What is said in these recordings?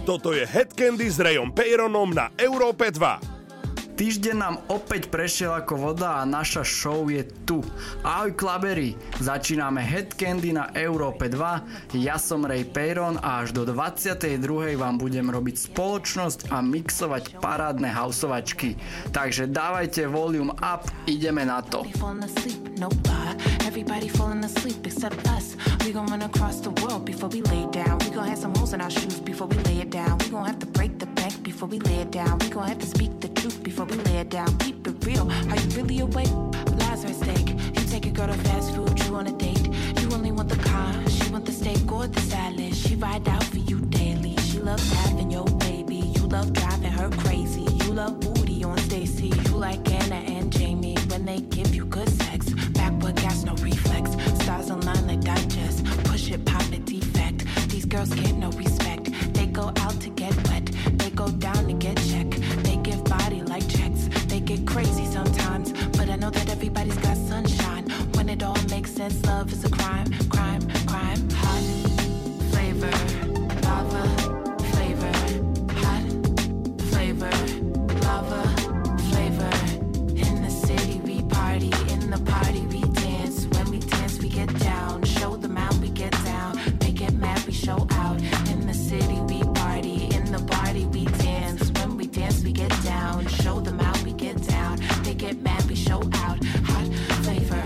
Toto je Headcandy s Rayom Peyronom na Európe 2. Týždeň nám opäť prešiel ako voda a naša show je tu. Ahoj klaberi, začíname Headcandy na Európe 2, ja som Ray Peyron a až do 22. vám budem robiť spoločnosť a mixovať parádne houseovačky. Takže dávajte volume up, ideme na to. Everybody falling asleep except us. We gon' run across the world before we lay down. We gon' have some holes in our shoes before we lay it down. We gon' have to break the bank before we lay it down. We gon' have to speak the truth before we lay it down. Keep it real. Are you really awake? Lazarus steak. You take a girl to fast food, you on a date. You only want the car, she want the steak or the salad. She ride out for you daily. She loves having your baby. You love driving her crazy. You love booty on Stacy. You like Anna and Jamie when they give you good sex. Backward gas, no reflex. Stars align like digest. Push it, pop it, defect. These girls get no respect. They go out to get wet. They go down to get checked. They give body like checks. They get crazy sometimes, but I know that everybody's got sunshine. When it all makes sense, love is a crime, crime, crime. Hot flavor, lava flavor, hot flavor, lava flavor. In the city we party, in the party we dance. When we dance we get down, show them out we get down. They get mad we show out. In the city we party, in the party we dance. When we dance we get down, show them out we get down. They get mad we show out. Hot flavor,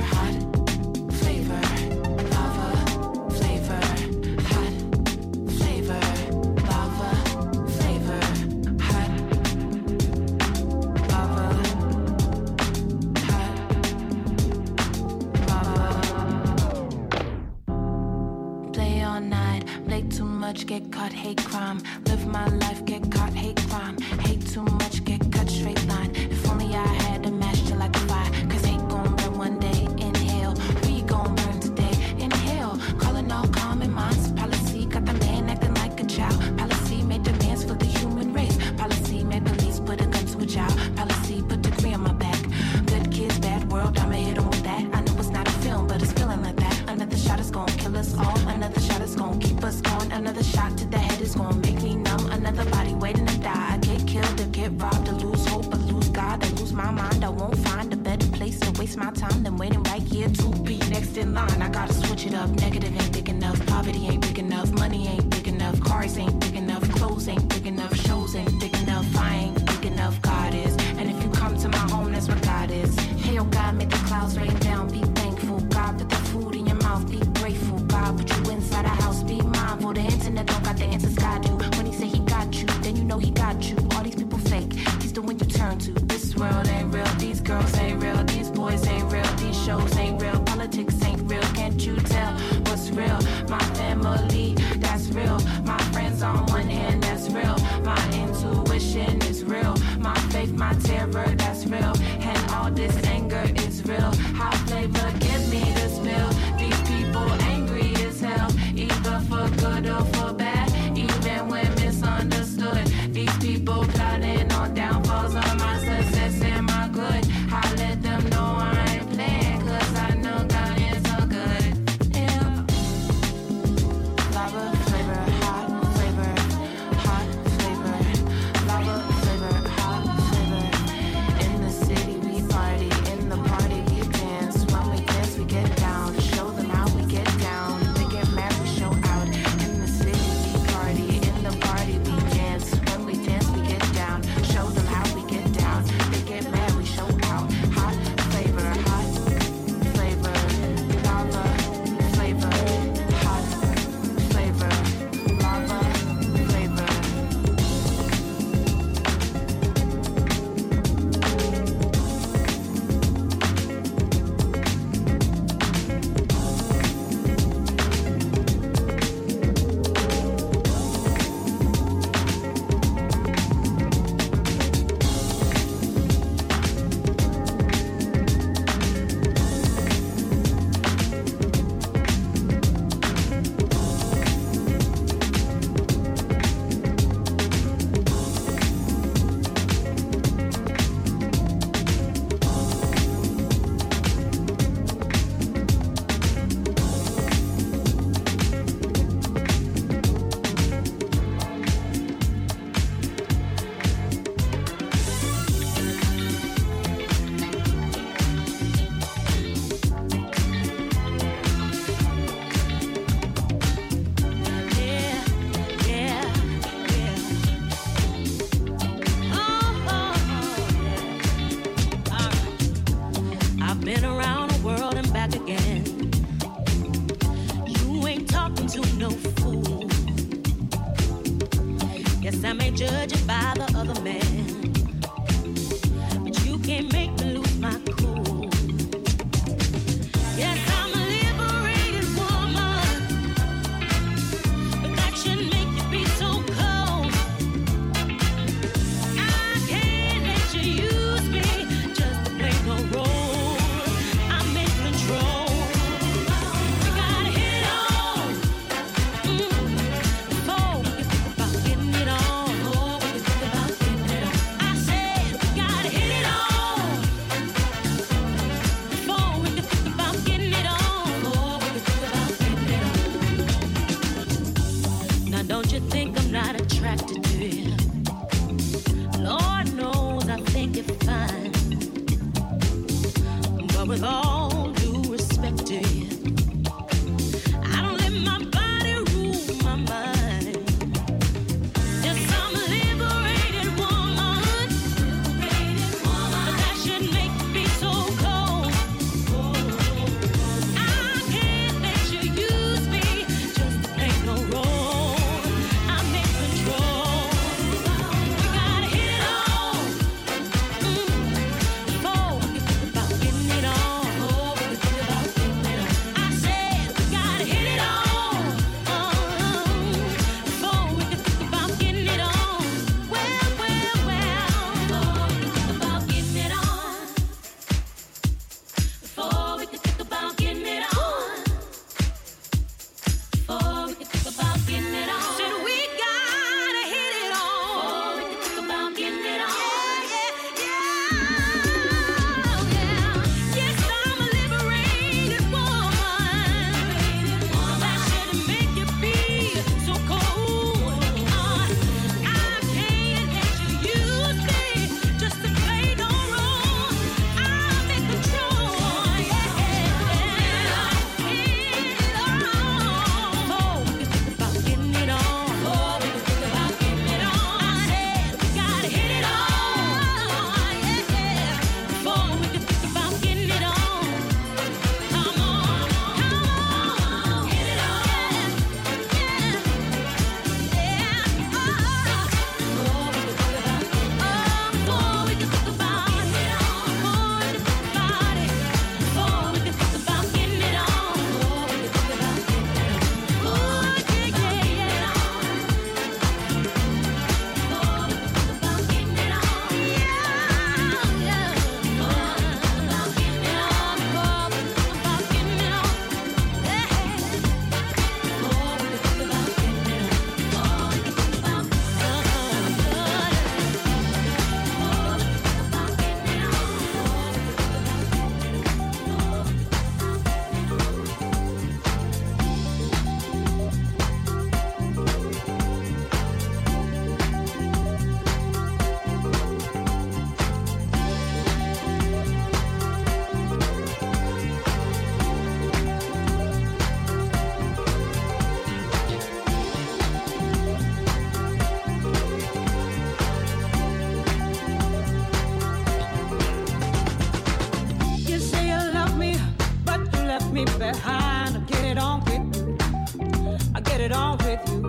lava flavor, hot flavor, lava flavor, hot lava, hot lava. Play all night, play too much, get caught, hate crime. Live my life, get caught, hate crime. Hate too much, get cut, straight line. If only I had a match to light the fire. Cause hate gon' burn one day, inhale. We gon' burn today, inhale. Calling all common minds. Policy got the man acting like a child. Policy made demands for the human race. Policy made police put a gun to a child. Policy put degree on my back. Good kids, bad world, I'ma hit 'em with that. I know it's not a film, but it's feeling like that. Another shot is gon' kill us all. Another shot is gon' keep us on. Another shot to the head is gon' make me numb. Another body waiting to die. I get killed or get robbed or lose hope or lose God or lose my mind. I won't find a better place to waste my time than waiting right here to be next in line. I gotta switch it up. Negative ain't big enough. Poverty ain't big enough. Money ain't big enough. Cars ain't big enough. Clothes ain't big enough. Shows ain't big enough. I ain't big enough. God is. And if you come to my home, that's what God is. Hey, oh God, make the clouds rain down. Be thankful. God, put the food in your mouth. Be grateful. God, put you inside a house. Be mindful. The internet don't got the answers God do. When he say he got you, then you know he got you. All these people fake. He's the one you turn to. This world ain't real. These girls ain't real. These boys ain't real. These shows ain't real. Politics ain't real. Can't you tell what's real? My family, that's real. My friends on Yes, I may judge it by the other man, but you can't make me lose my cool. Yes, I'm a liberated woman, but that shouldn't make you be so cold. I can't let you use me just to play no role. I'm in control. We gotta hit it on before we can think about getting it on. I said we gotta hit it on before we can think about getting it on. Now don't you think I'm not attracted to you? Lord knows I think you're fine, but with all due respect to you, I don't let my body rule my mind. Yes, I'm a liberated woman, but that shouldn't make me be so cold. I can't let you use me just to play no role. I'm in control. We gotta hit it on before we can think about getting it on. I said we gotta hit it on before we can think about getting it on. Well, before we can think about getting it on. Before we can think about getting it on. Before we can think about getting it on. Said we gotta hit it on. Before we can think about getting it on. Yes, I'm a liberated woman. That shouldn't make you be so cold. I can't let you use me just to play no role. I'm in control. Before we can think about getting it on. I said we gotta hit it on. Before we can think about getting it on. Come on, hit it on. Before we can think about getting it on. Before we can think about getting it on. You say you love me, but you left me behind. I get it on with you. I get it on with you.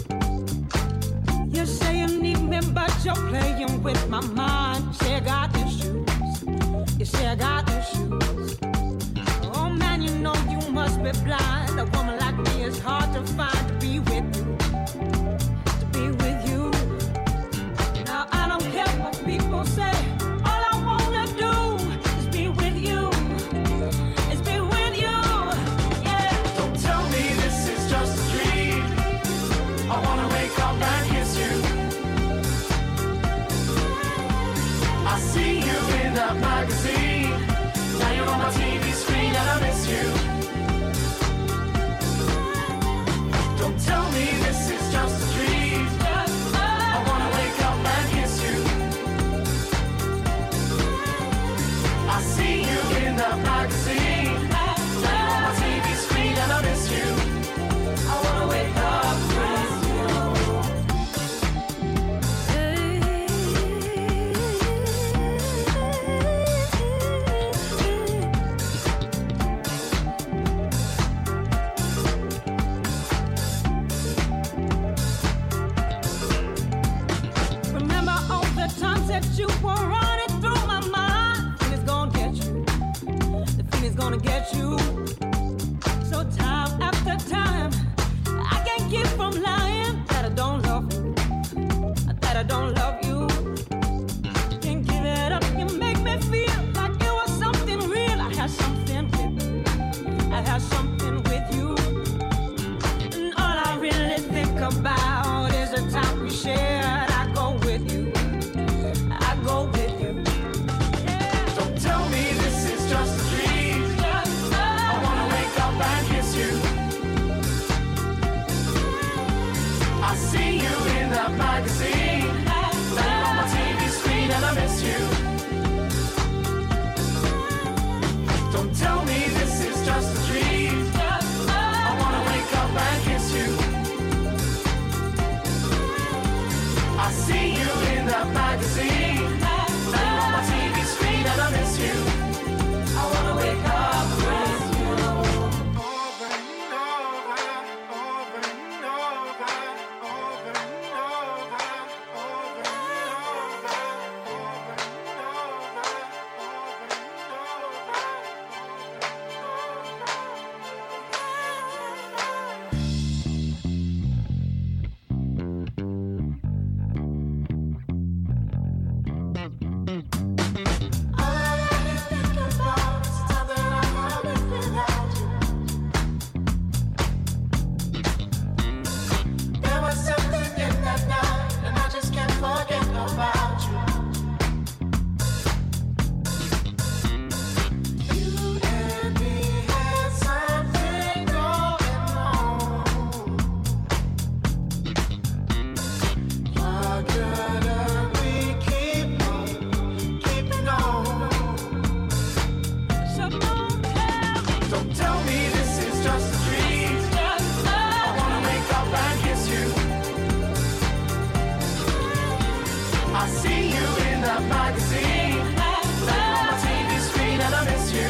You say you need me, but you're playing with my mind. You say I got issues. You say I got issues. Oh man, you know you must be blind. A woman like me is hard to find to be with you. To be with you. Now I don't care what people say. All I wanna do is be with you. Is be with you. Yeah. Don't tell me this is just a dream. I wanna wake up and kiss you. I see you in that magazine. Now you're on my TV screen and I miss you. Don't tell me wanna get you. So time after time, I can't keep from lying that I don't love you, that I don't love you. Can't give it up, you make me feel like it was something real. I had something with you, I had something with you. And all I really think about is the time we shared. I go with you, I go with you. Don't tell me this is just a dream. I wanna wake up and kiss you. I see you in that magazine, laying on my TV screen, and I miss you. Don't tell me this is just a dream. I wanna wake up and kiss you. I see you in that magazine, laying on my TV screen, and I miss you. I wanna wake up with you. Over and over, over and over, over and over, over and over, over There was something in that night, and I just can't forget about you. You and me had something going on. Why couldn't we keep on keeping on? So don't tell me Don't tell me this is just a dream. I wanna wake up and kiss you. I see you in that magazine, laying on my TV screen, and I miss you.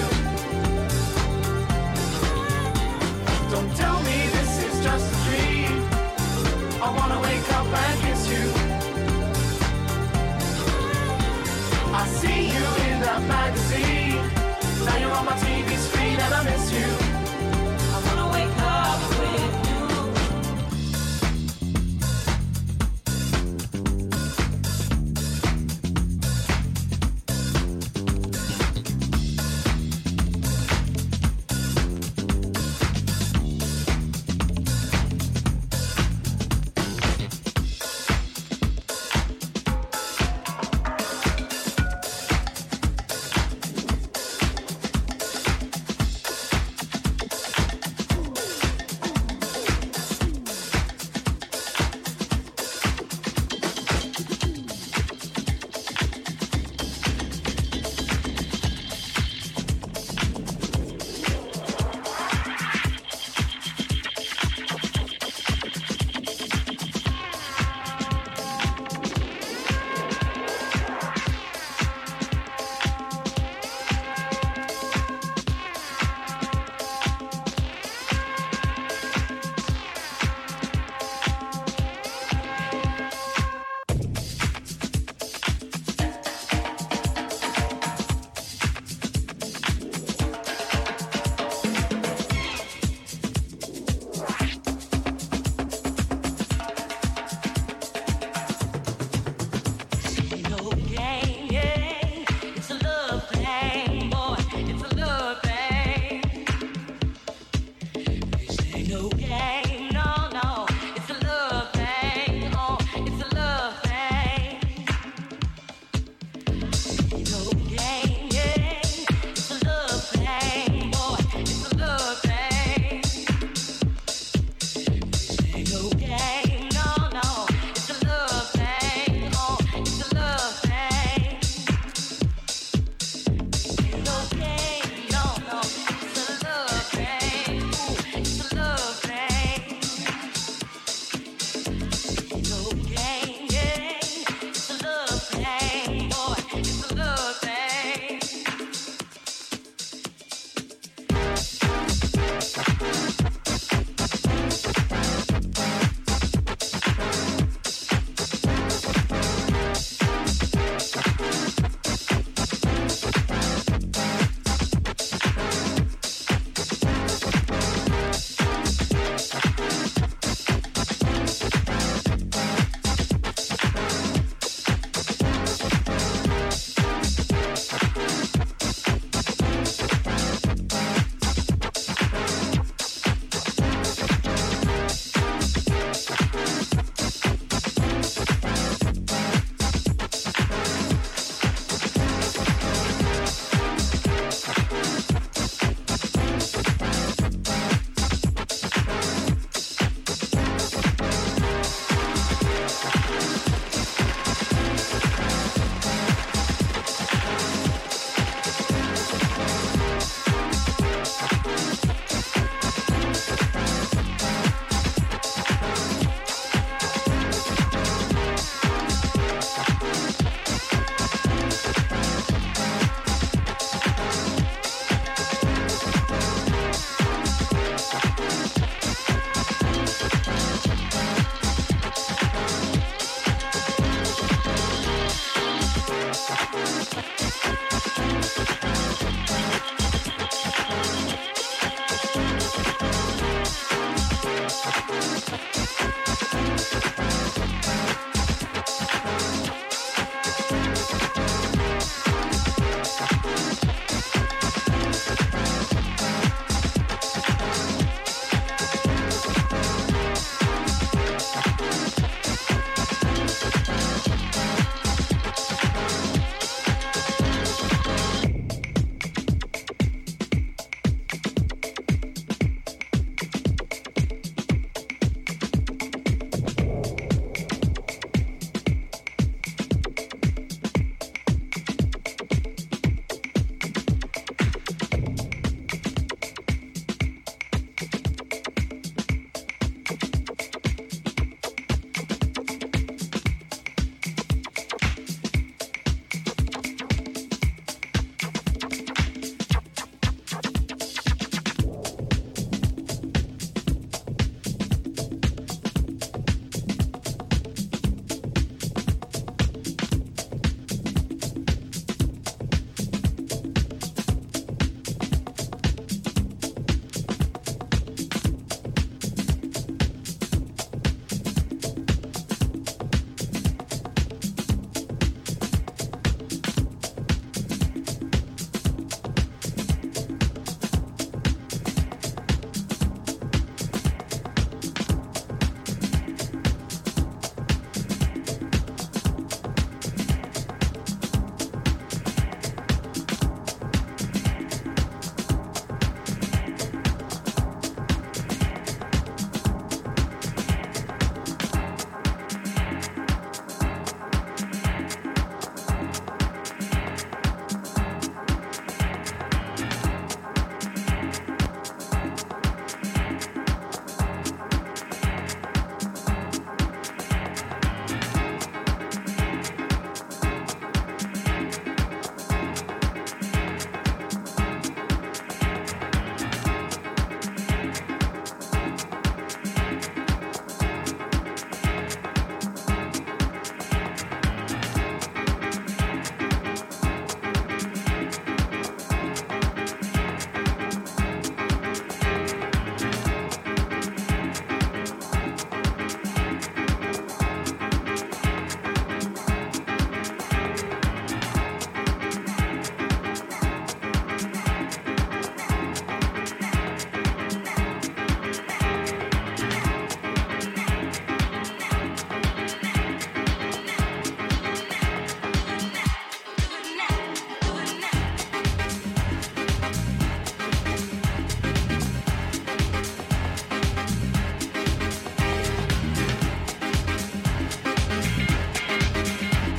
Don't tell me this is just a dream. I wanna wake up and kiss you. I see you in that magazine, now you're on my TV screen, and I miss you. I wanna wake up with you.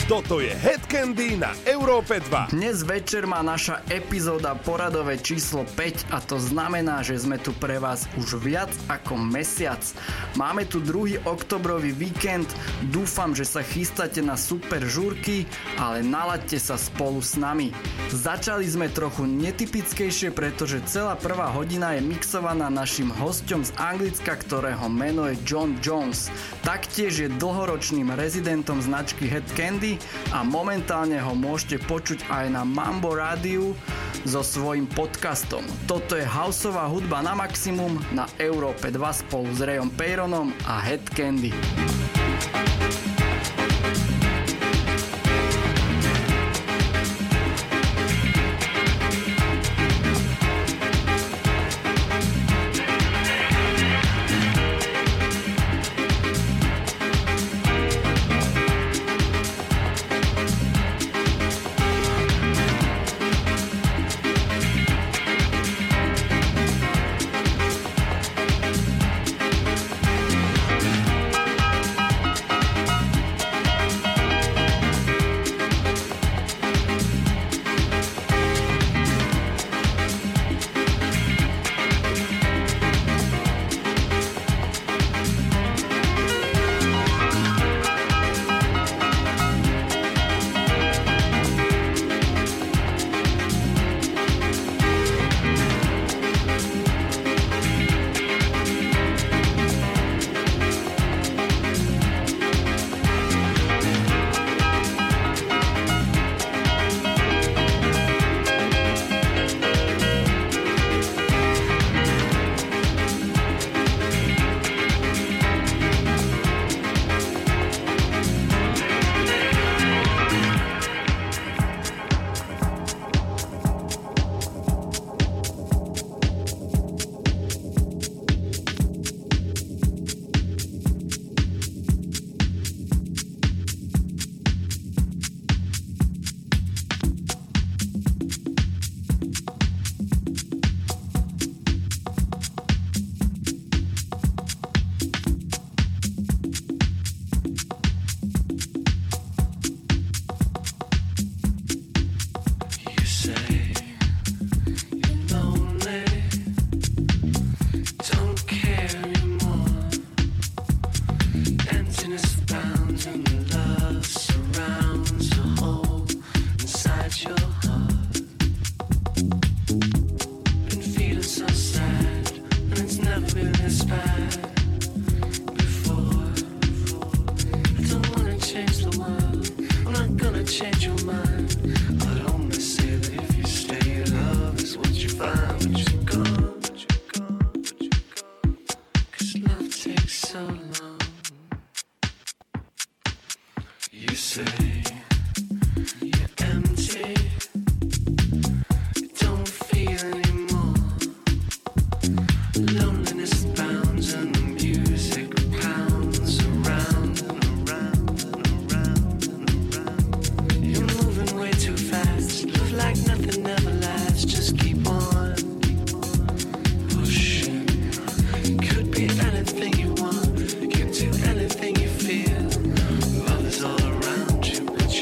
Toto je Head Candy na Európe 2. Dnes večer má naša epizóda poradové číslo 5 a to znamená, že sme tu pre vás už viac ako mesiac. Máme tu 2. oktobrový víkend, dúfam, že sa chystáte na super žúrky, ale nalaďte sa spolu s nami. Začali sme trochu netypickejšie, pretože celá prvá hodina je mixovaná našim hosťom z Anglicka, ktorého meno je John Jones. Taktiež je dlhoročným rezidentom značky Head Candy a momentálne ho môžete počuť aj na Mambo rádiu so svojím podcastom. Toto je houseová hudba na maximum na Európe 2 spolu s Rayom Peyronom a Head Candy. Anything you feel, love is all around you, but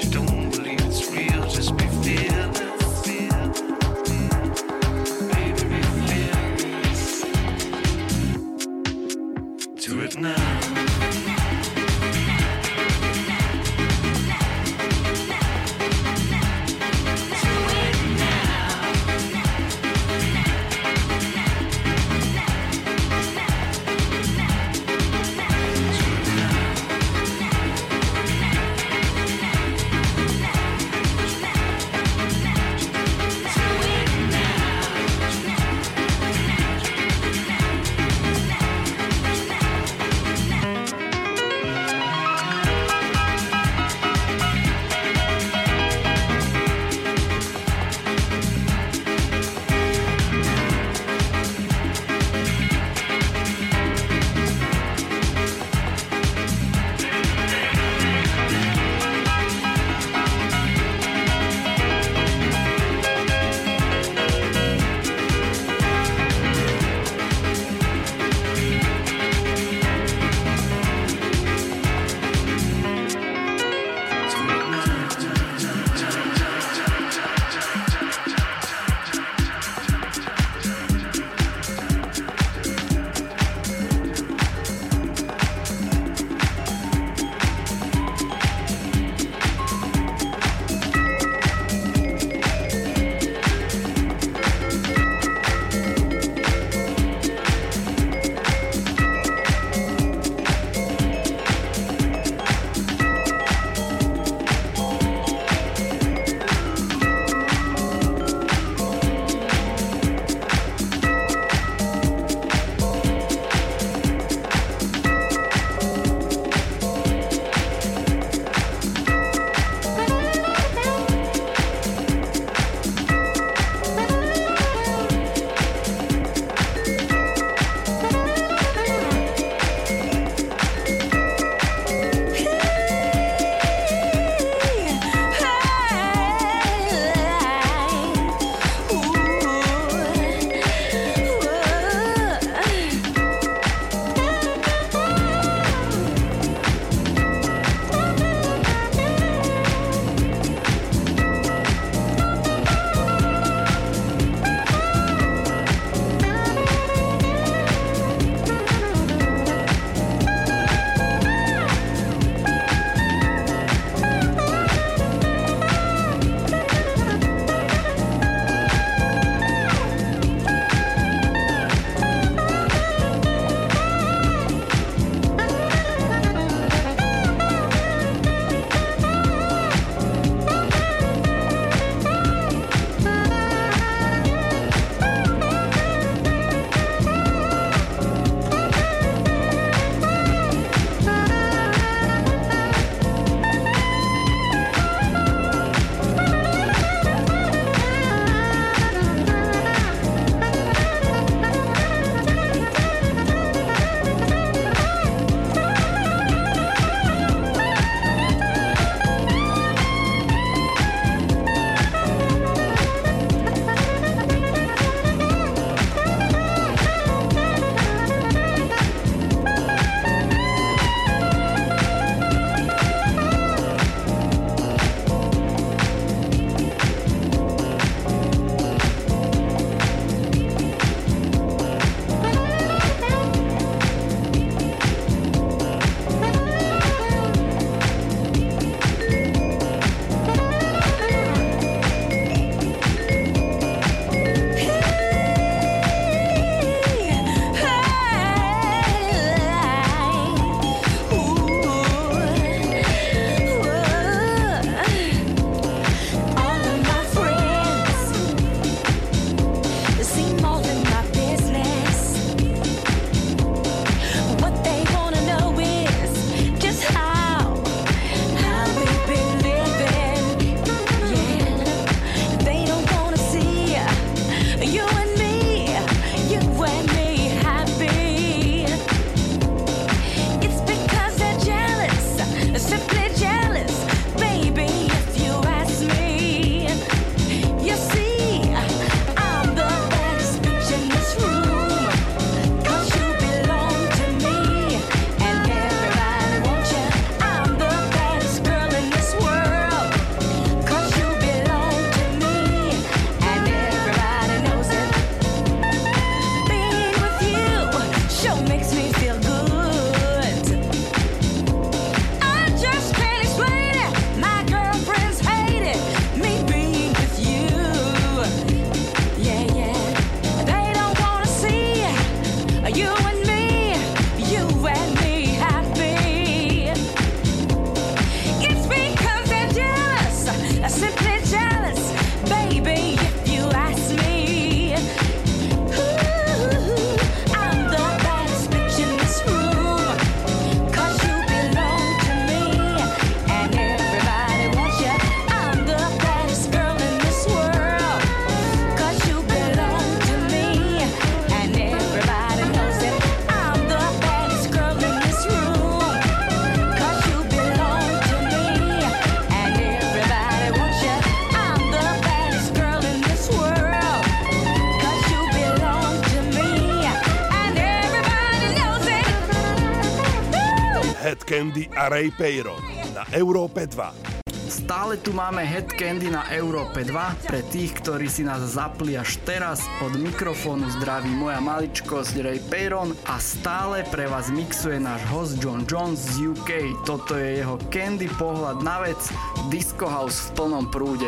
Candy a Ray Peyron na Európe 2. Stále tu máme Head Candy na Európe 2. Pre tých, ktorí si nás zapli až teraz, od mikrofónu zdraví moja maličkosť Ray Peyron a stále pre vás mixuje náš host John Jones z UK. Toto je jeho Candy pohľad na vec, Disco House v plnom prúde.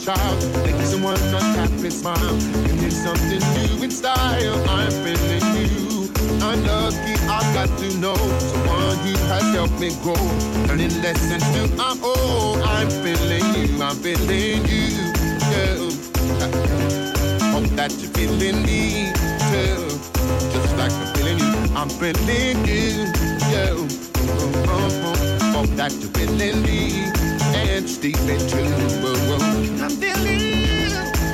child. Make someone not happy smile. Give me something new in style. I'm feeling you. I'm lucky, I got to know someone who has helped me grow. Learning lessons to I'm old. I'm feeling you. I'm feeling you. Yeah. Hope that you're feeling me too. Just like I'm feeling you. I'm feeling you. Yeah. Hope that you're feeling me. And it's deep and true. I'm feeling you.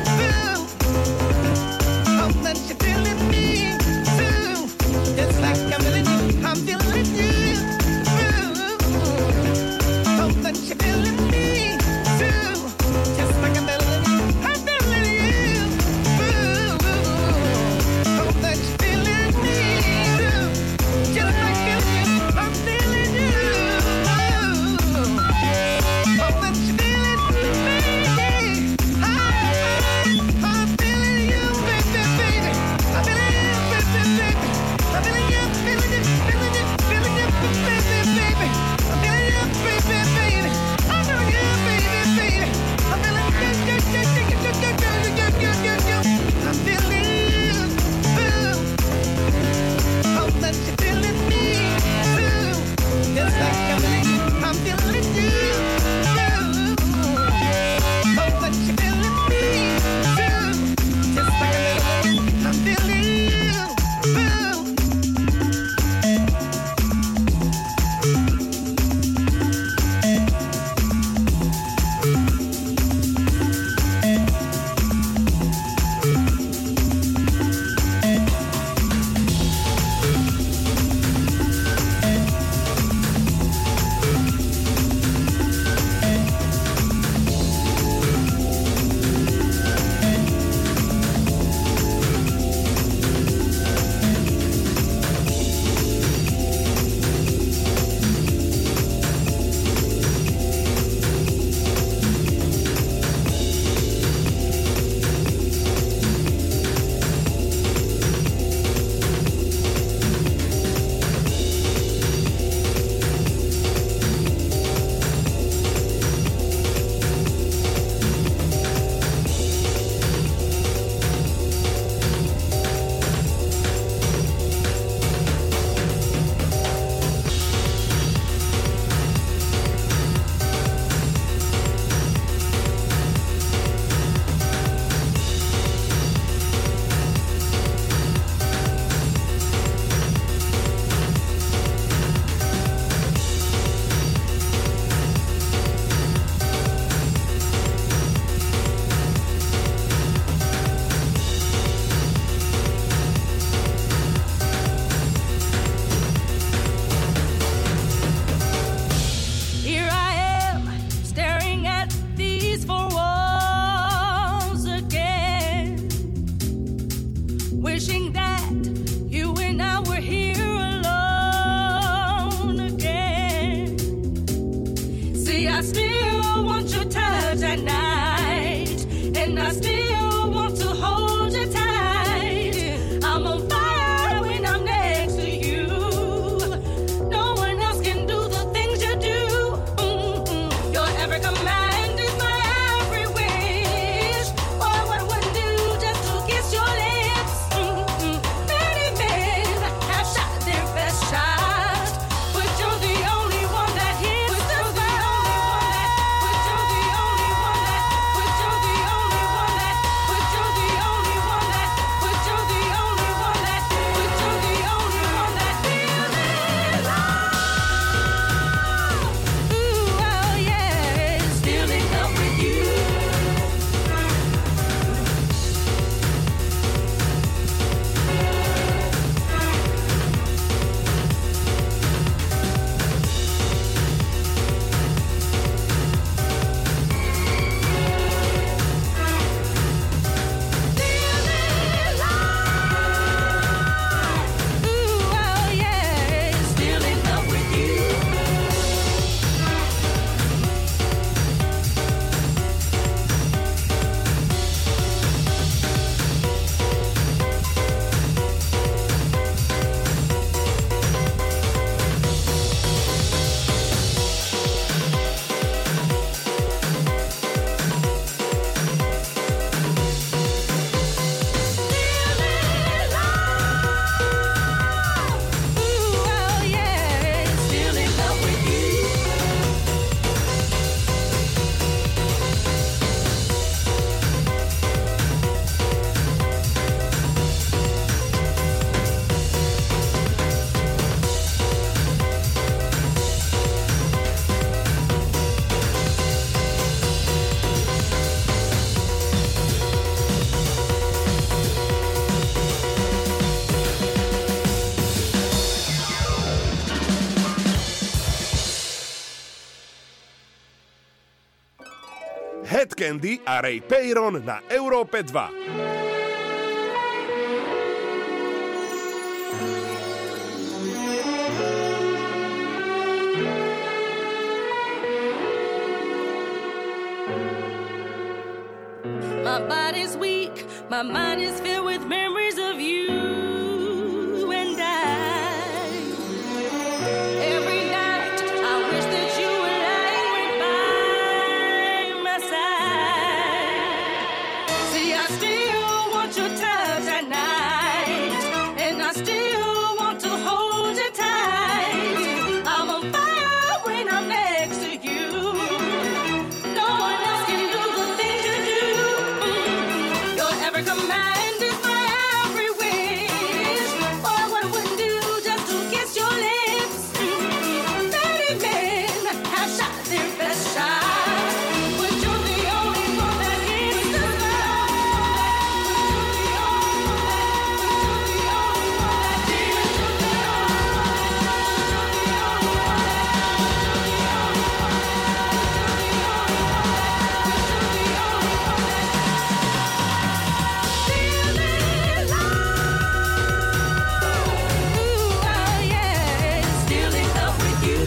Hope that you're feeling me too. Just like I'm feeling you. I'm feeling you. Hope that you're feeling me too. Just like I'm feeling you. I'm feeling you. Hope that you're feeling me too. Just like I'm feeling you. I'm feeling you. Hope that you're feeling me. Head Candy a Ray Peyron na Európe 2. My body's weak, my mind is filled with memories of you and I. Every night I wish that you were lying right by my side. See, I still want your touch at night, and I still want to hold you tight. I'm on fire when I'm next to you. No one else can do the things you do. Your every command is my every wish. Oh, what I wouldn't do just to kiss your lips. Many men have shot their best shot, but you're the only one that hits the mark. Ooh, oh yeah, still in love with you.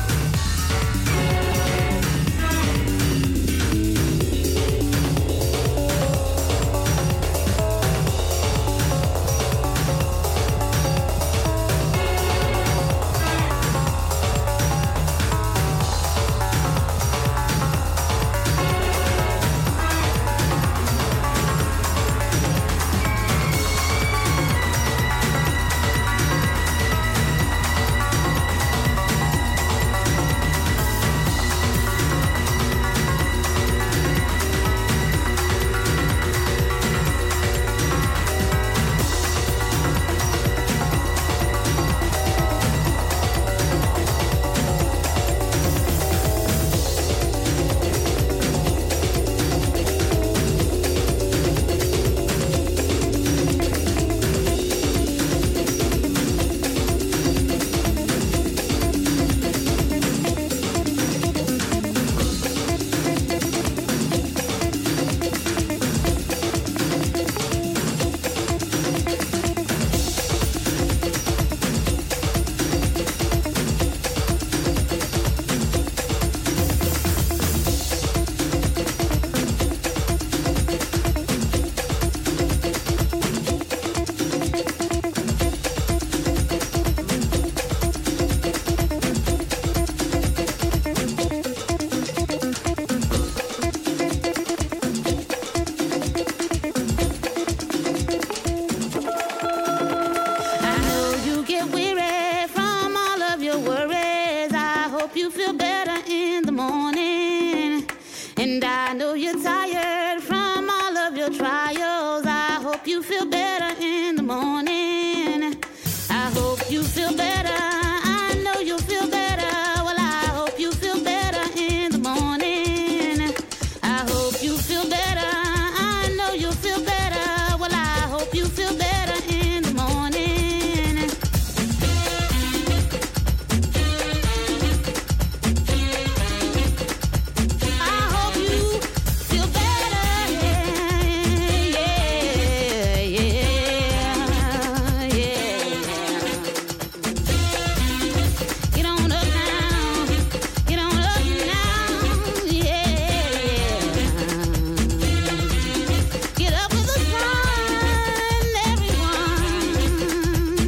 I know you get weary from all of your worries. I hope you feel better in the morning. And I know you're tired from all of your trials. I hope you feel better in the morning. I hope you feel better. I know you feel better. Well, I hope you feel better in the morning. I hope you feel better. I know you feel better. Well, I hope you feel better in the morning. I hope you feel better. Yeah, yeah, yeah. Get on up now. Get on up now. Yeah. Get up with the sun, everyone.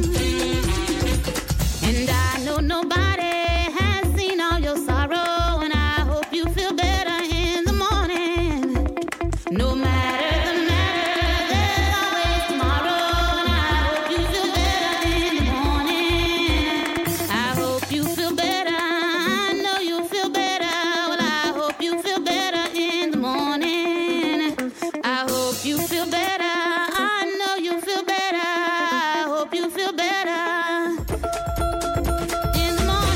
And I know nobody has seen all your sorrow, and I hope you feel better in the morning. No matter the matter, there's always tomorrow, and I hope you feel better in the morning. I hope you feel better. I know you feel better. Well, I hope you feel better in the morning. I hope you feel better. I know you feel better. I hope you feel better in the morning.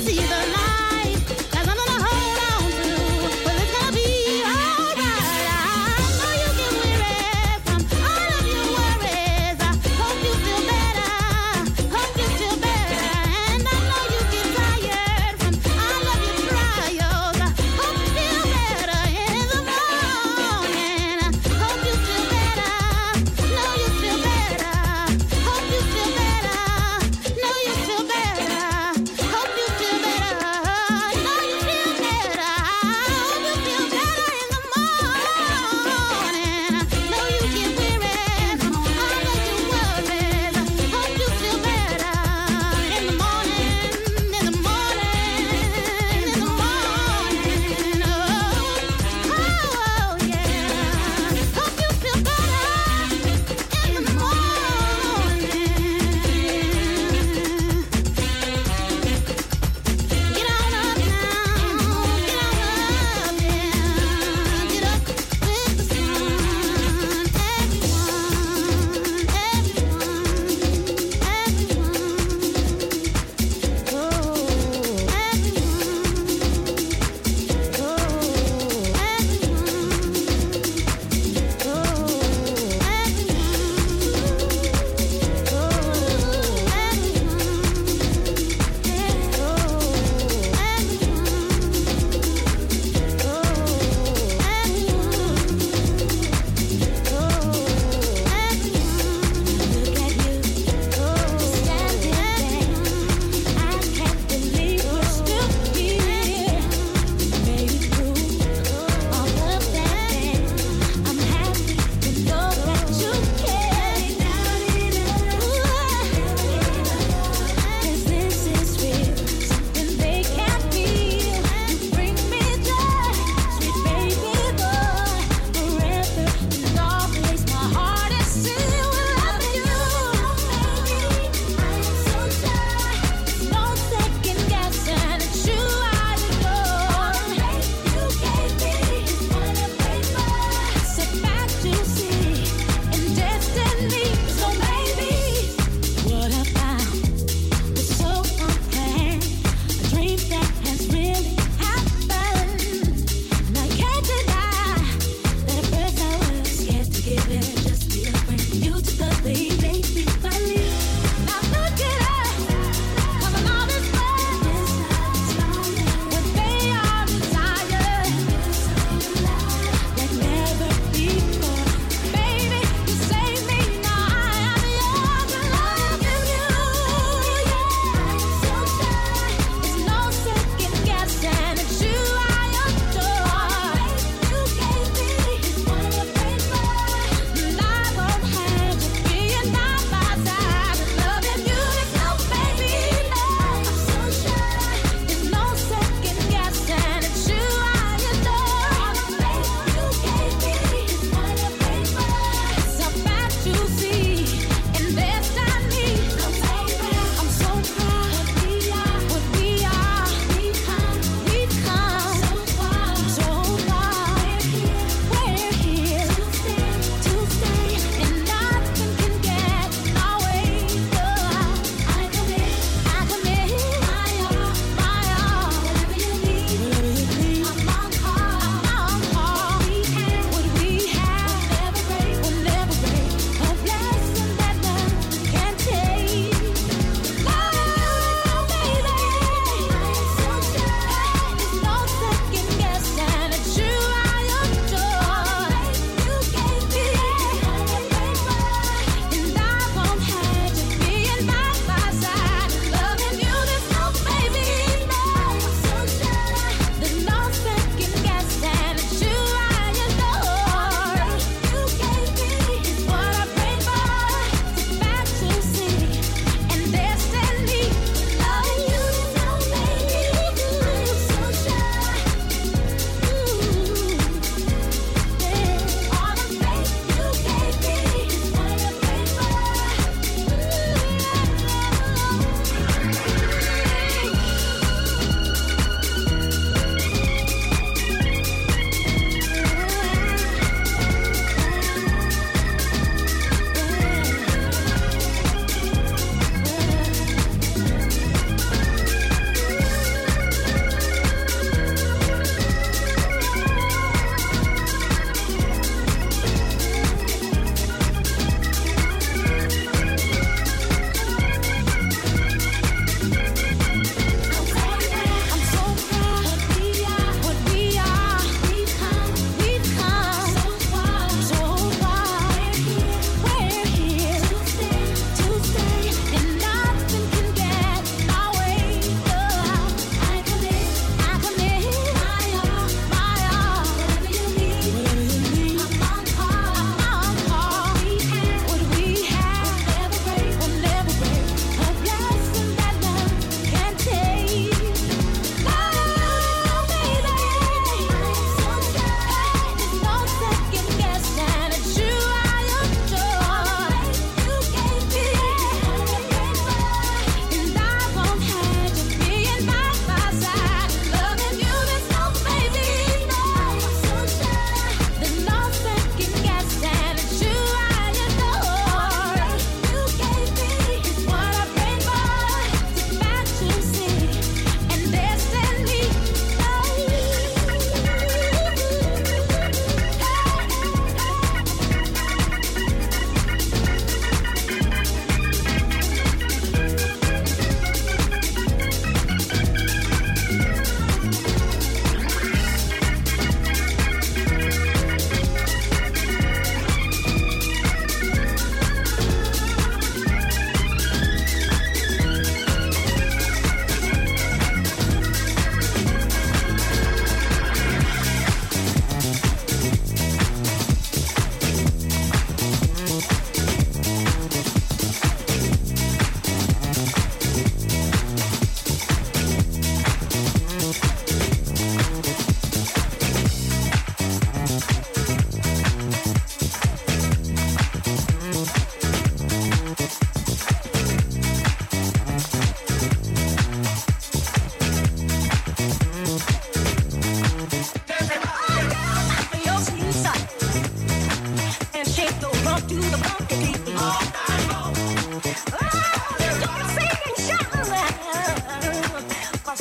see the light. Got something to hold on to. Well, it's gonna be alright. I know you get weary from all of your worries. I hope you feel better. Hope you feel better. And I know you get tired from all of your trials. I hope you feel better in the morning. Hope you feel better. Know you feel better. Hope you feel better. Know you feel better. Hope you feel better.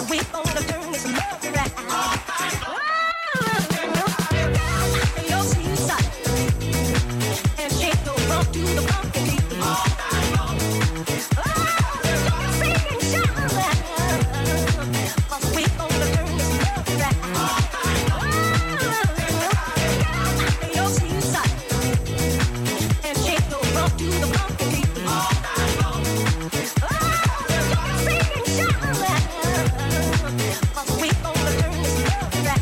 We gonna turn this love around. Your seaside and shake the rock to the funky beat. Sing and shout, 'cause we gonna turn this love around. Your seaside and shake the rock to the funky beat. Sing and shout, 'cause we gonna turn this love around.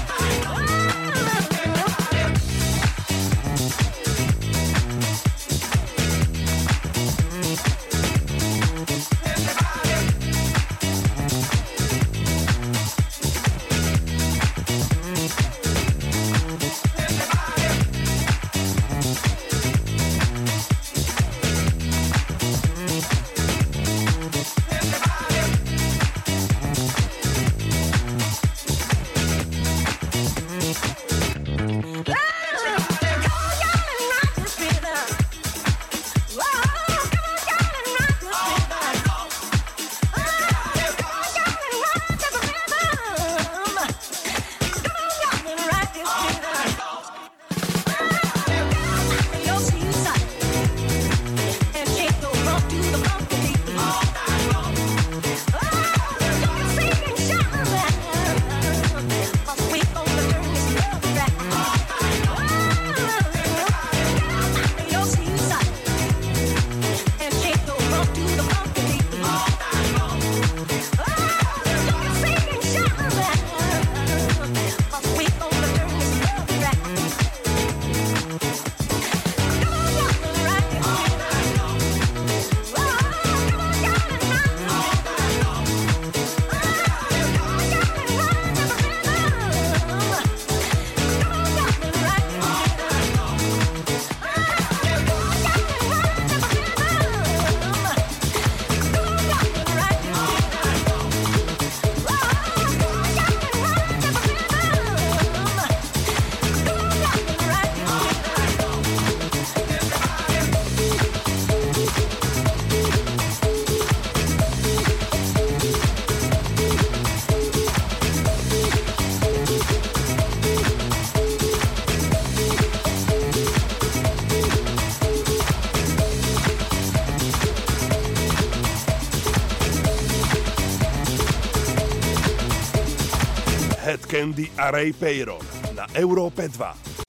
Head Candy a Ray Peyron na Európe 2.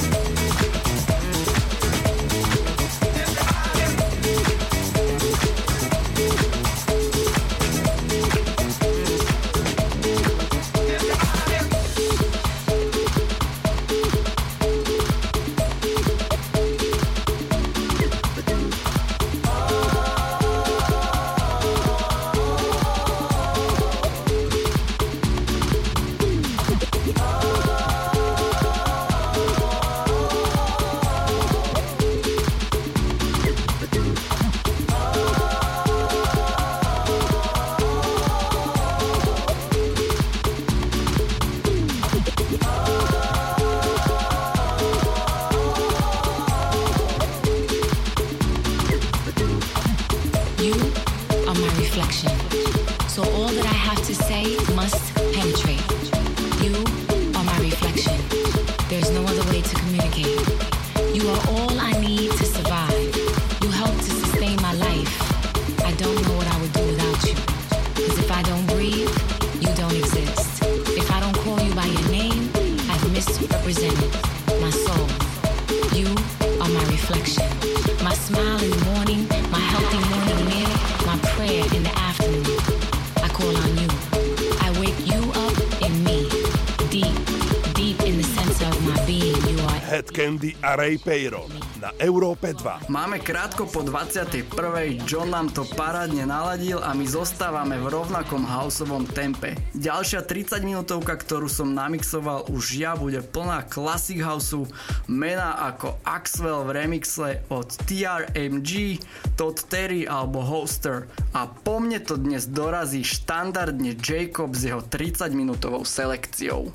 Head Candy a Ray Peyron na Európe 2. Máme krátko po 21. John nám to parádne naladil a my zostávame v rovnakom houseovom tempe. Ďalšia 30 minútovka, ktorú som namixoval už ja, bude plná classic houseu, mená ako Axwell v remixe od TRMG, Todd Terry alebo Hoster. A po mne to dnes dorazí štandardne Jacob s jeho 30 minútovou selekciou.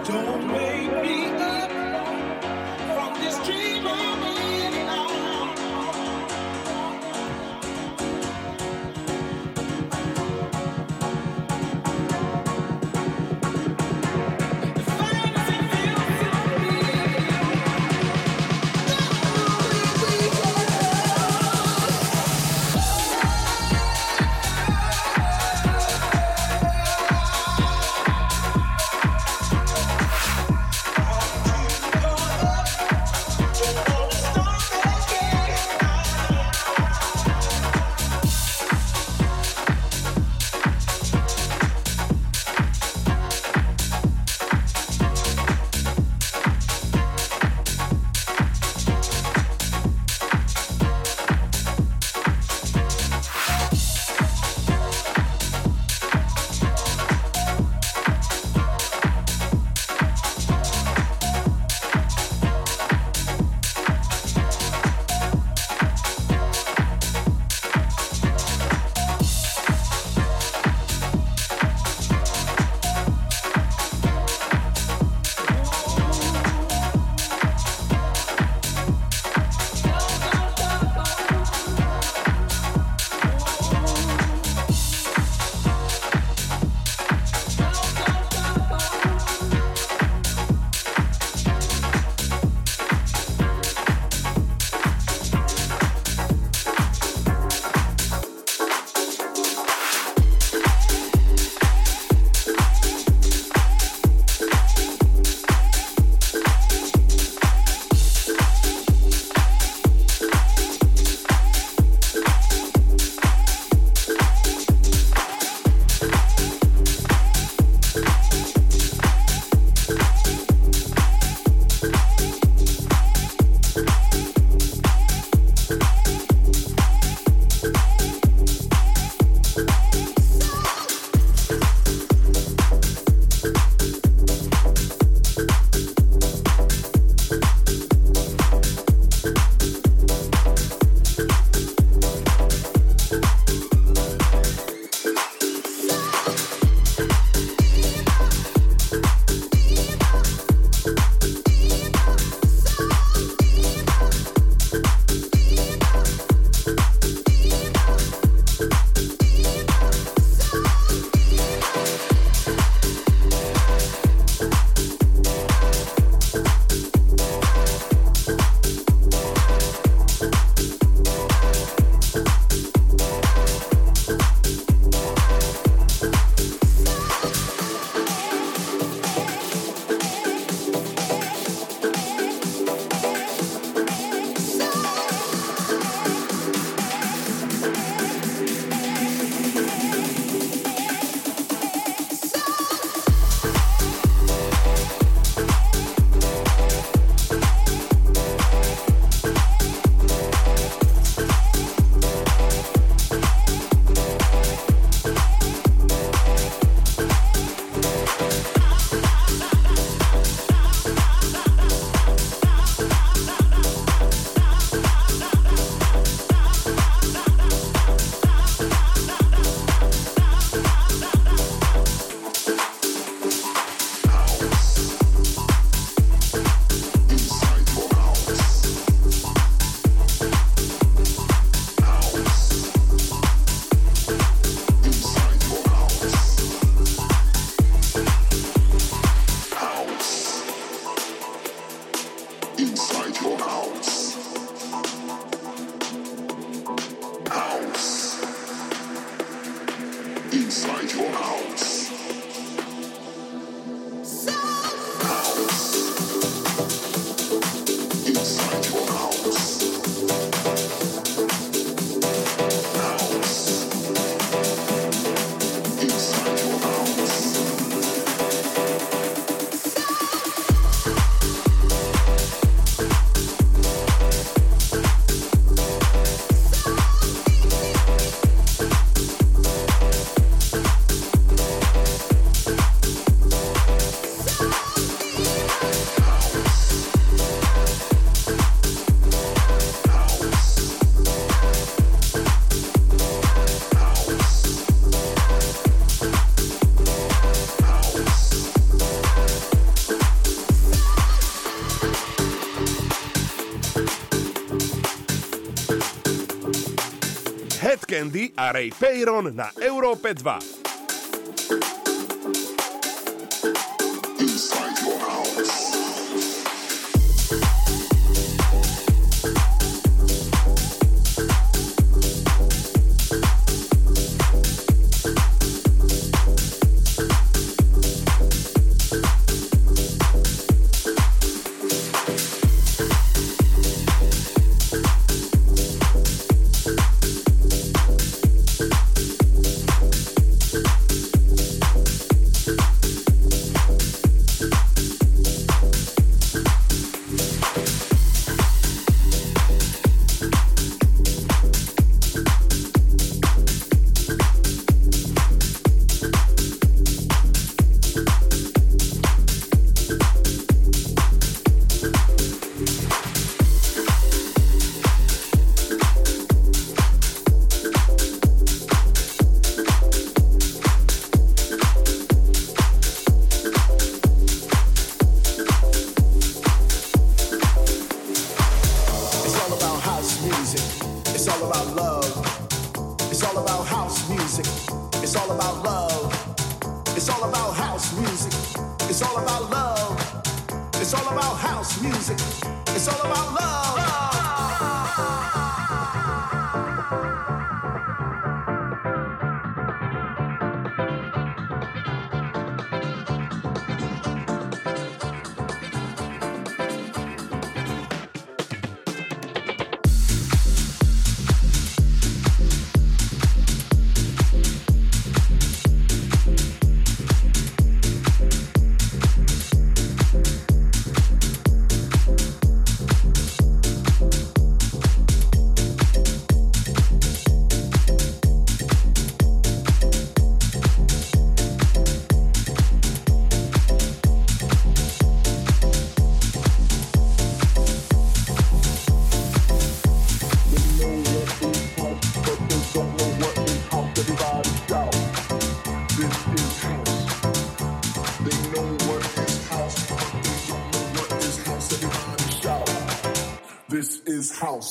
Don't wake me up from this dream I'm in now. The fantasy feels so real. Candy a Ray Peyron na Európe 2. This is house.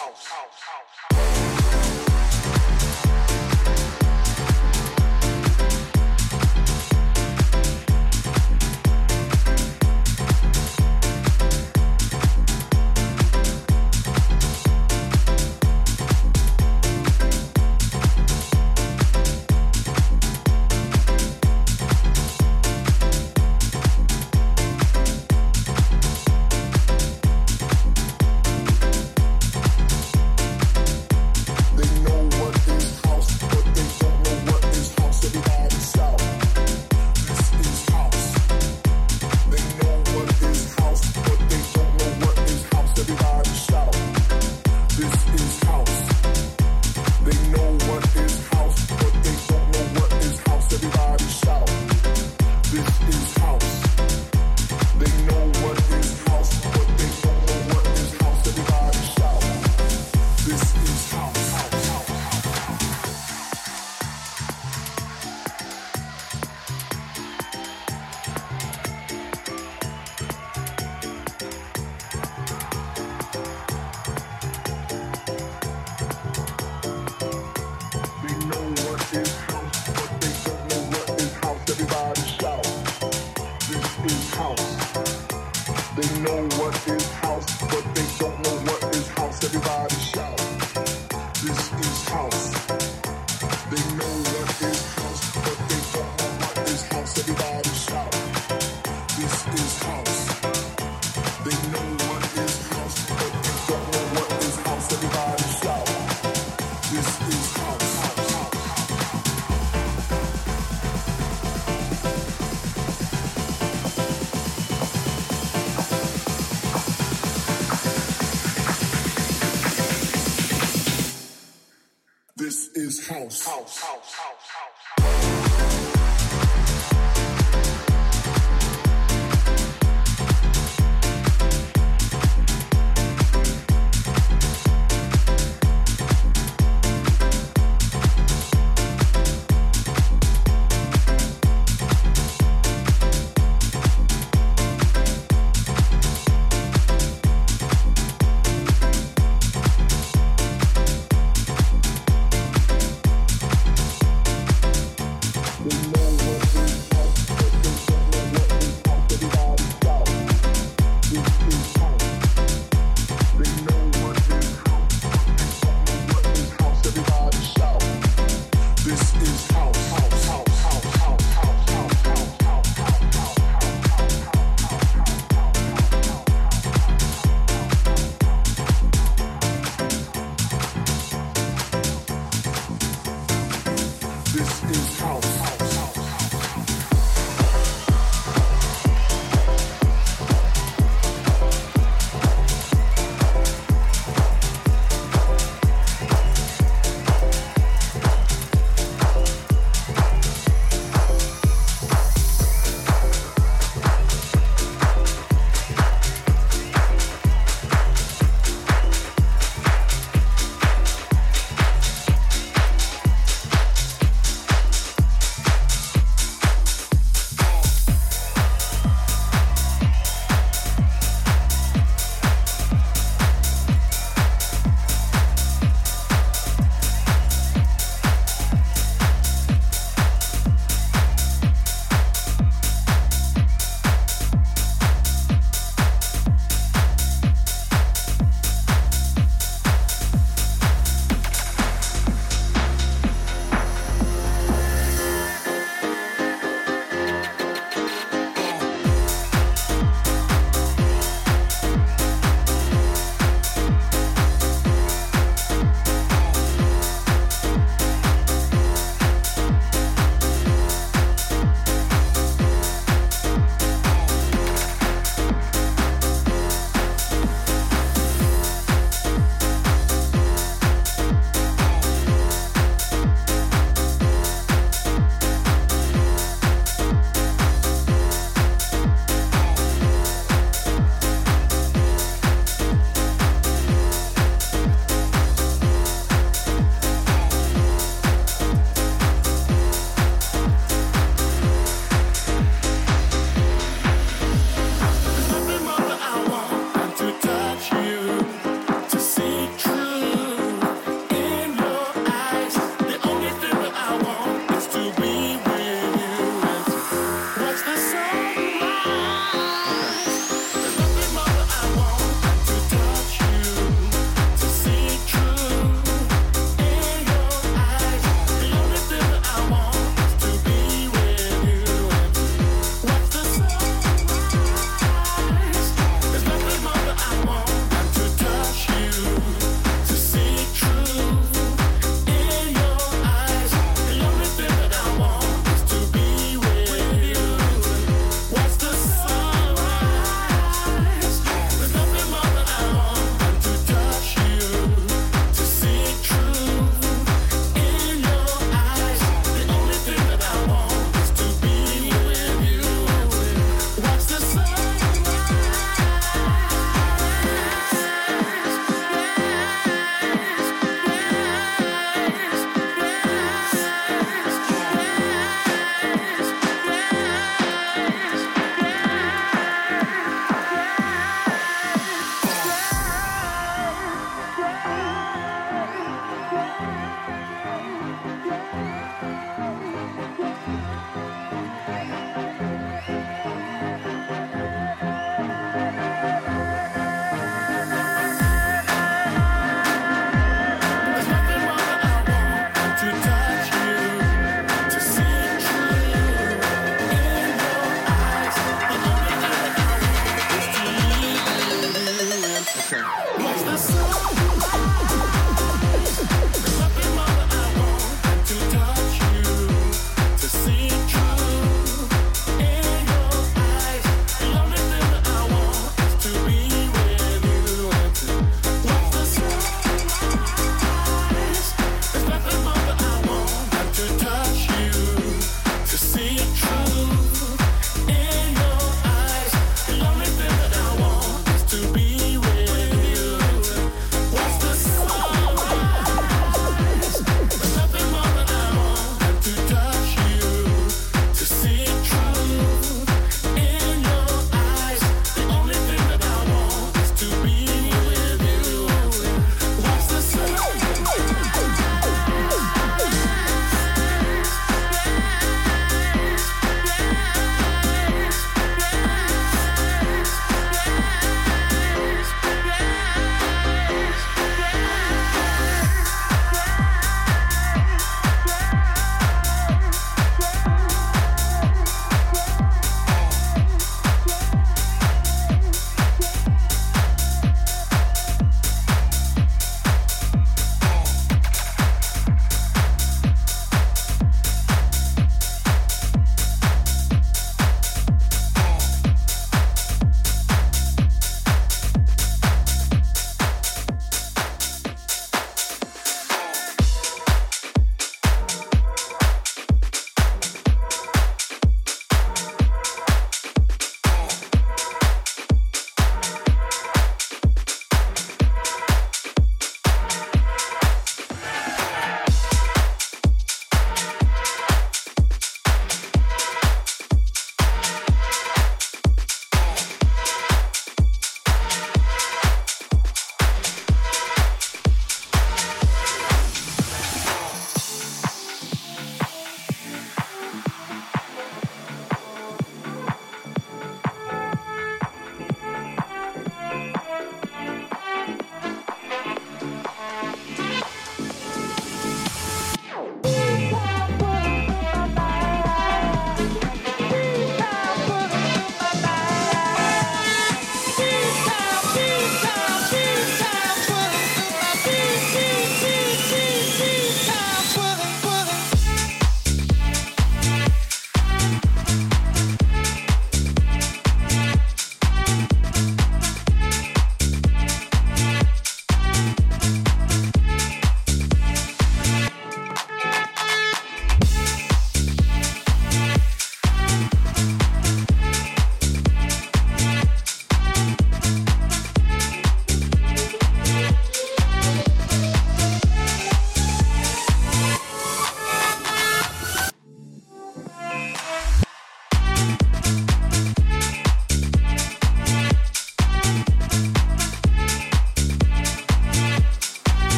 This is house.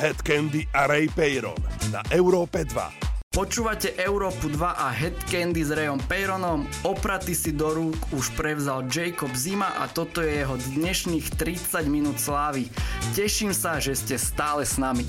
Head Candy a Ray Peyron na Európe 2. Počúvate Európu 2 a Head Candy s Rayom Peyronom. Opraty si do rúk už prevzal Jacob Zima a toto je jeho dnešných 30 minút slávy. Teším sa, že ste stále s nami.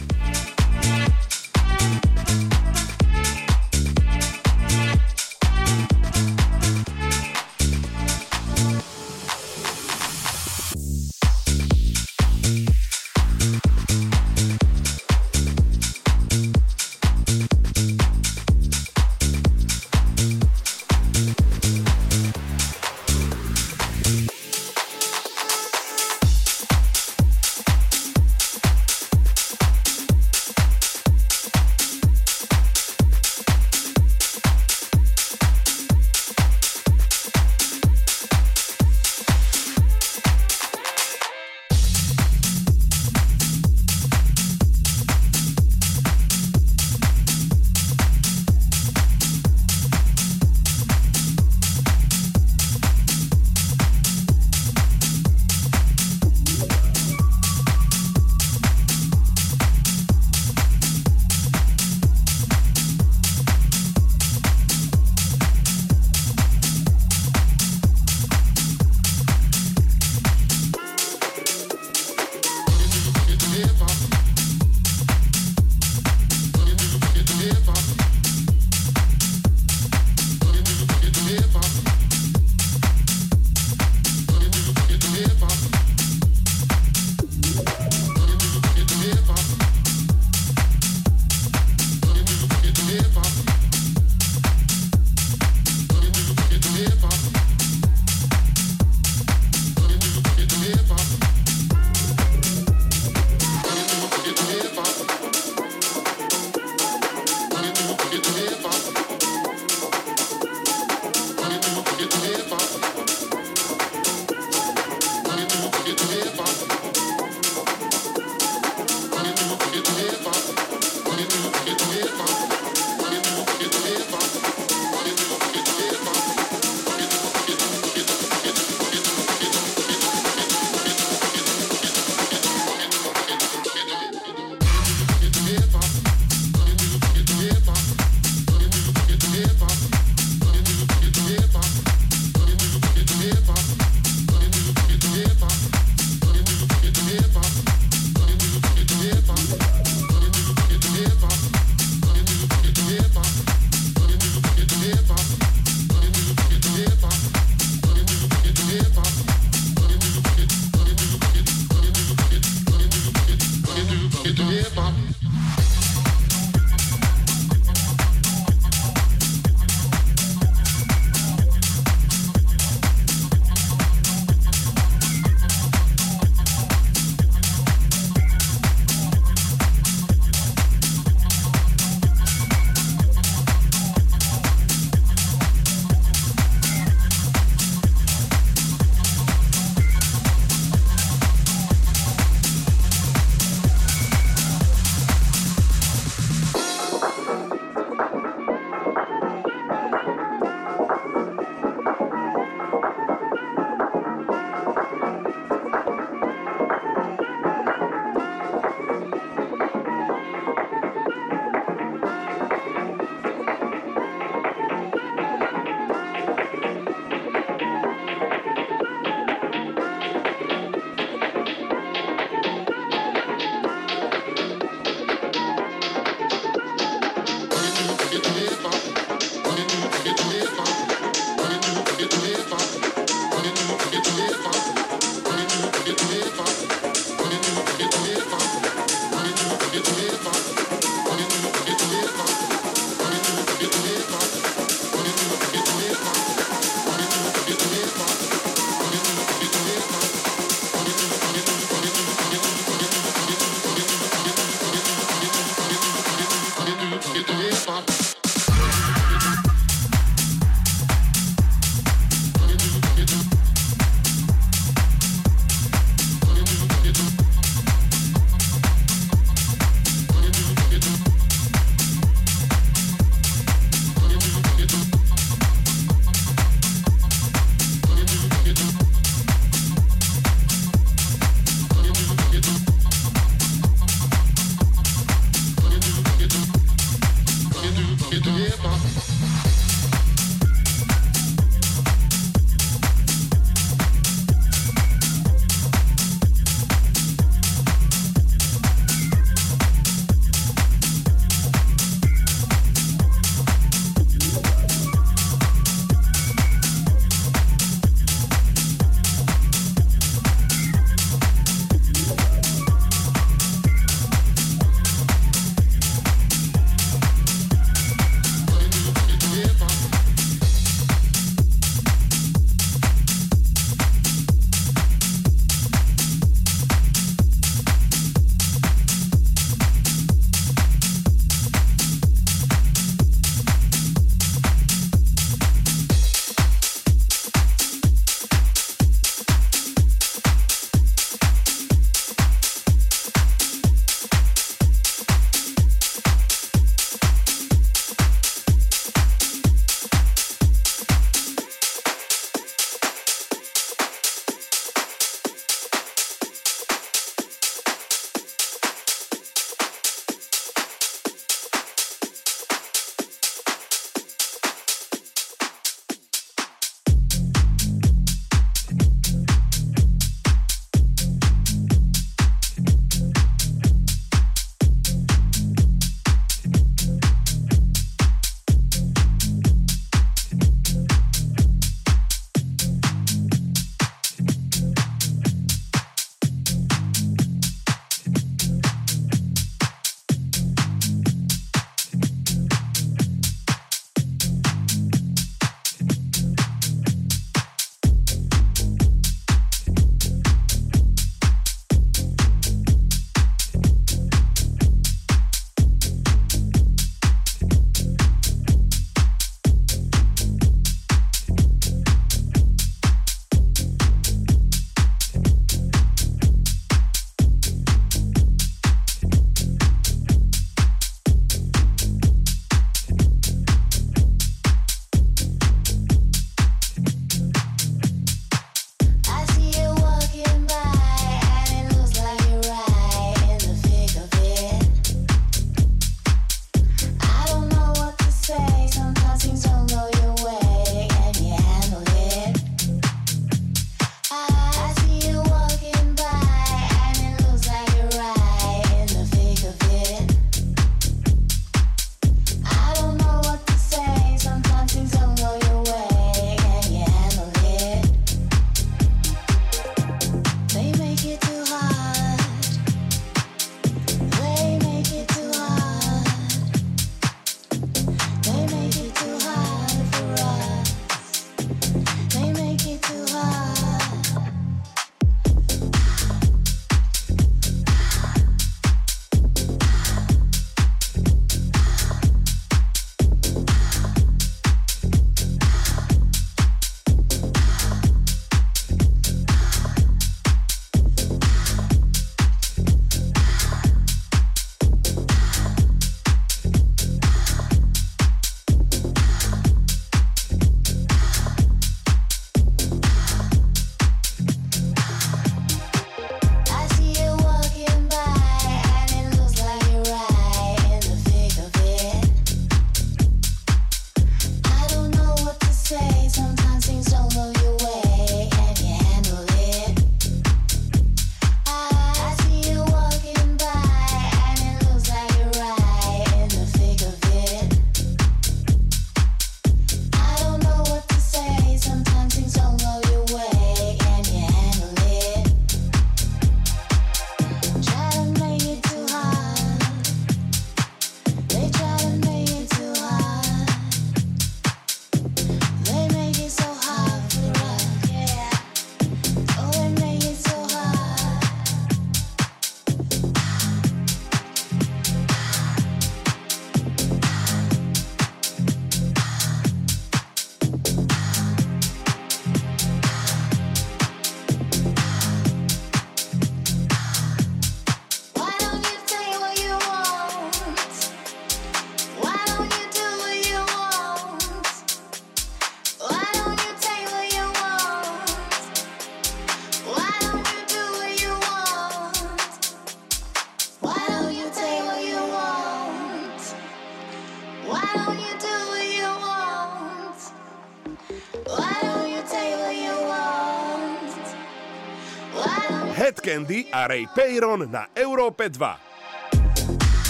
Head Candy a Ray Peyron na Európe 2.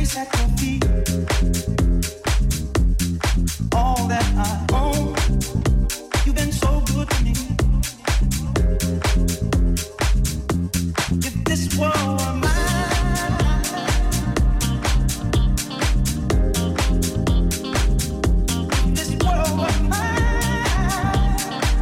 place at your feet. All that I own, you've been so good to me. If this world were mine, if this world were mine,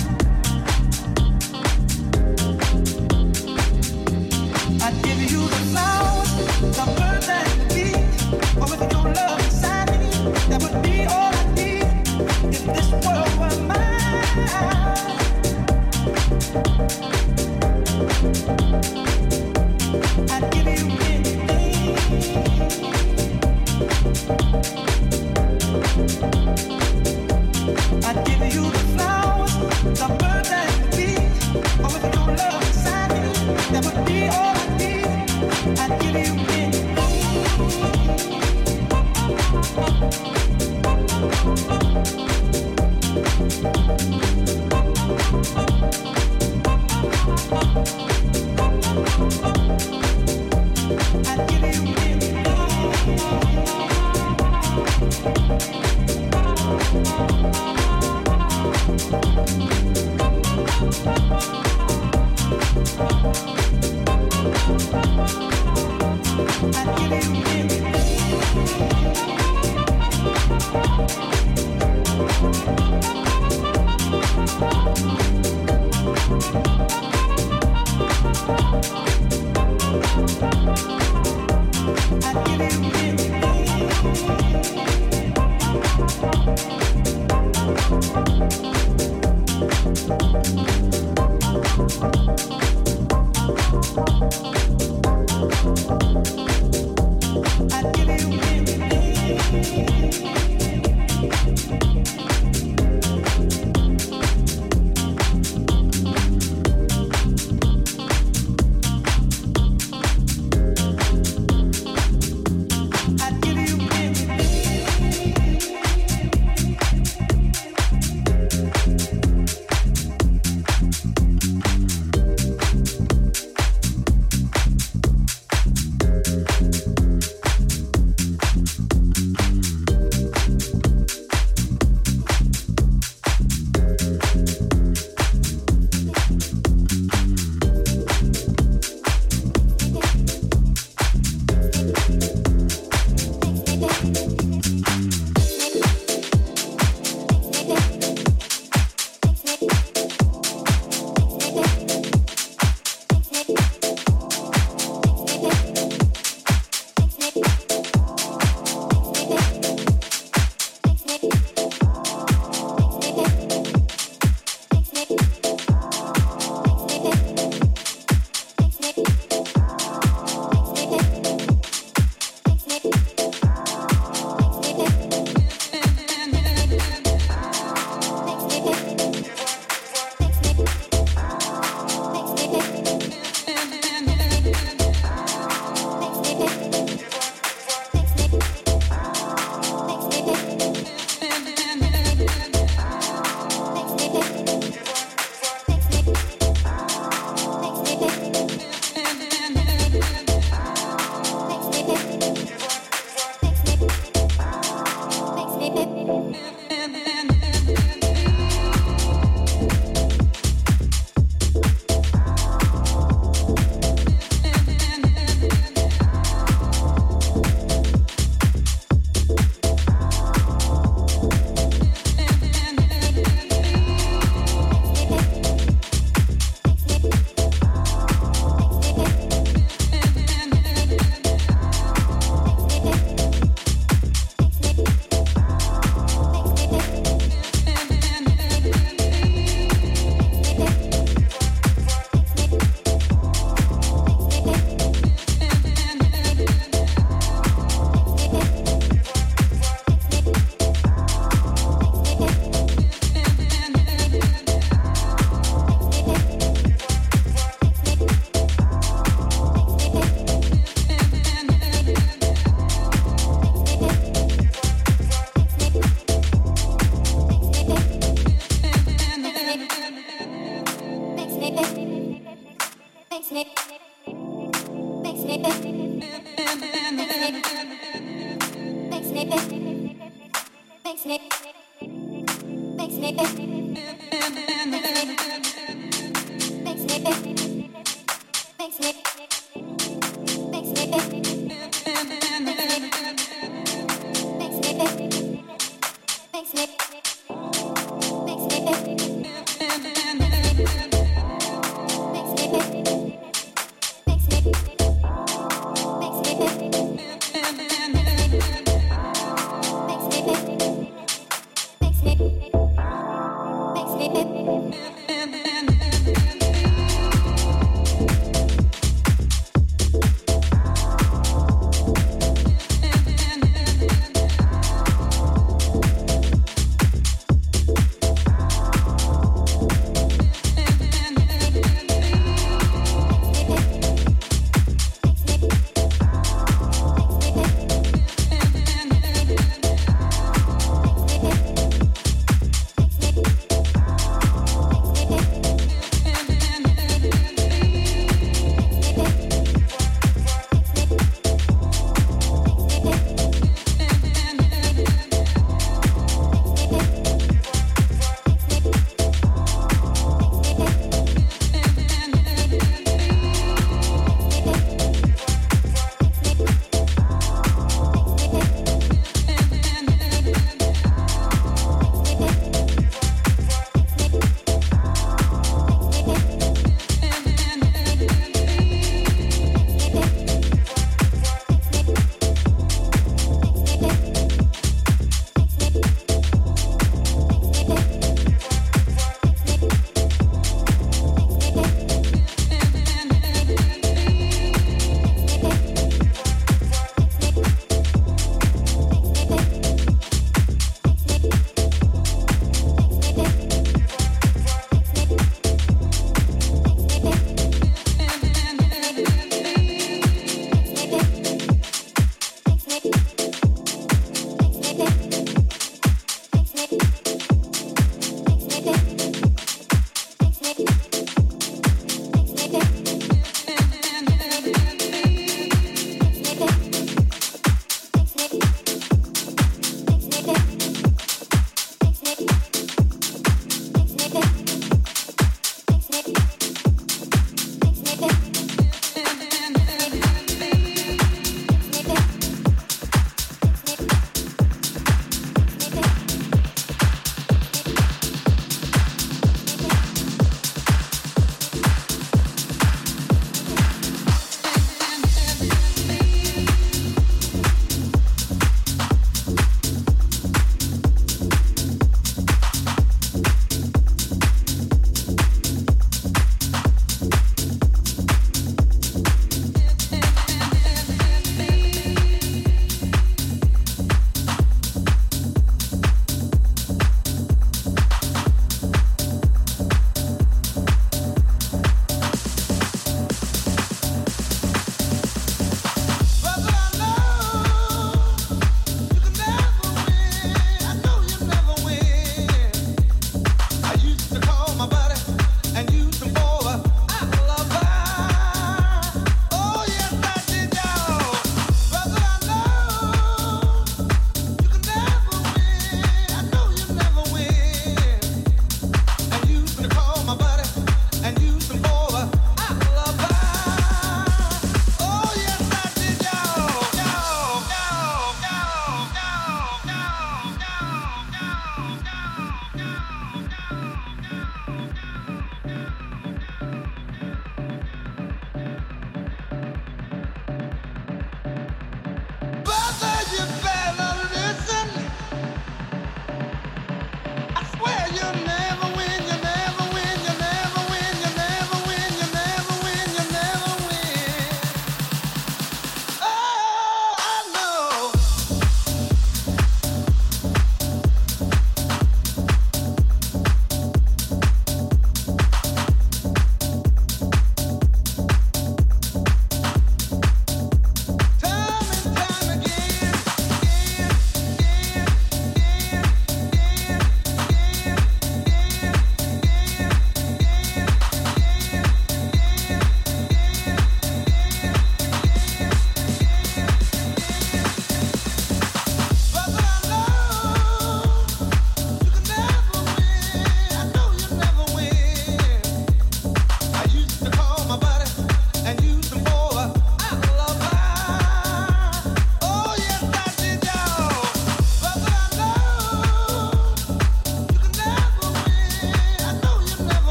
I'd give you the flowers, the birds and the bees. But with your love inside me, that would be all I need. If this world were mine, I'd give you anything. I'd give you the flowers, the birds and the bees. But with your love inside me, that would be all I need. I'd give you anything. I'd give you anything.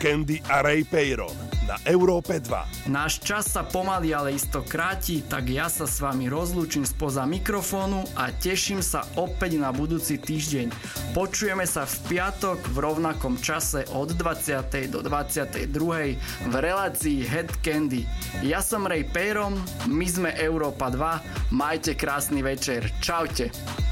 Candy a Ray Peyron na Európe 2. Náš čas sa pomaly, ale isto kráti, tak ja sa s vami rozlúčim spoza mikrofónu a teším sa opäť na budúci týždeň. Počujeme sa v piatok v rovnakom čase od 20. do 22. v relácii Head Candy. Ja som Ray Peyron, my sme Európa 2, majte krásny večer, čaute.